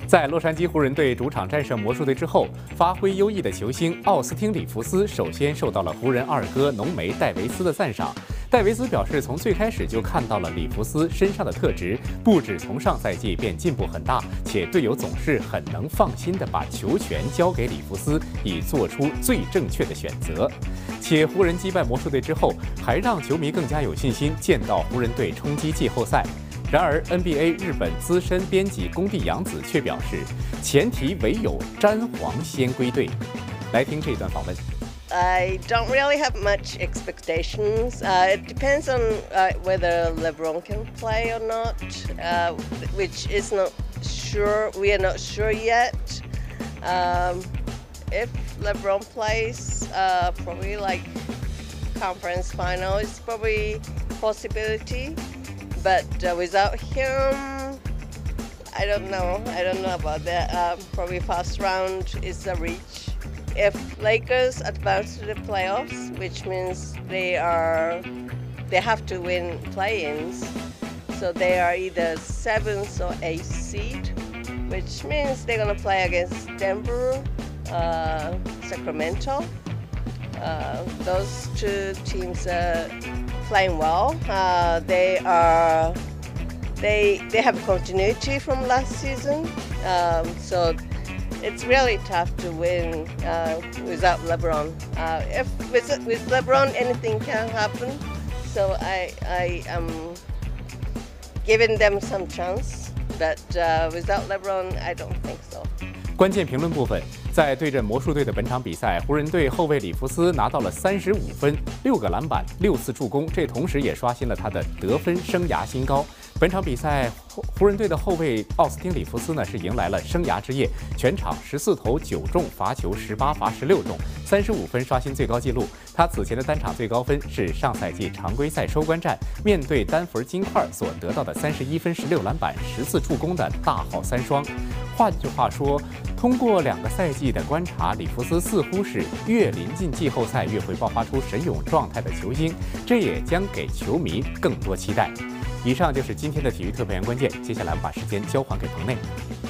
在洛杉矶湖人队主场戰勝魔術隊之後，發揮優異的球星奧斯汀·里弗斯首先受到了湖人二哥濃眉戴維斯的讚賞。戴維斯表示，從最開始就看到了里弗斯身上的特質，不止從上賽季便進步很大，且隊友總是很能放心地把球權交給里弗斯，以做出最正確的選擇。且湖人擊敗魔術隊之後，還讓球迷更加有信心見到湖人隊衝擊季後賽。然而 ，NBA 日本資深編輯宮地洋子卻表示，前提唯有詹皇先歸隊。來聽這段訪問。 I don't really have much expectations. It depends on whether LeBron can play or not, which is not sure. We are not sure yet. If LeBron plays, probably like conference final is probably a possibility. But without him, I don't know. I don't know about that. Probably first round is a reach. If Lakers advance to the playoffs, which means they have to win play-ins, so they are either 7th or 8th seed, which means they're gonna play against Denver, Sacramento. Those two teams are playing well. They have continuity from last season, so. It's really tough to win without LeBron. If with LeBron, anything can happen. So I am giving them some chance, but without LeBron, I don't think so. 關鍵評論部分，在對陣魔術隊的本場比賽，湖人隊後衛里弗斯拿到了35分、6個籃板、6次助攻，這同時也刷新了他的得分生涯新高。本場比賽，湖人隊的後衛奧斯汀·里弗斯呢是迎來了生涯之夜，全場14投9中，罰球18罰16中，35分刷新最高紀錄。他此前的單場最高分是上賽季常規賽收官戰面對丹佛金塊所得到的31分、16籃板、10次助攻的大號三雙。換句話說，通過2個賽季的觀察，里弗斯似乎是越臨近季後賽越會爆發出神勇狀態的球星，這也將給球迷更多期待。以上就是今天的體育特派員關鍵，接下來我們把時間交還給棚內。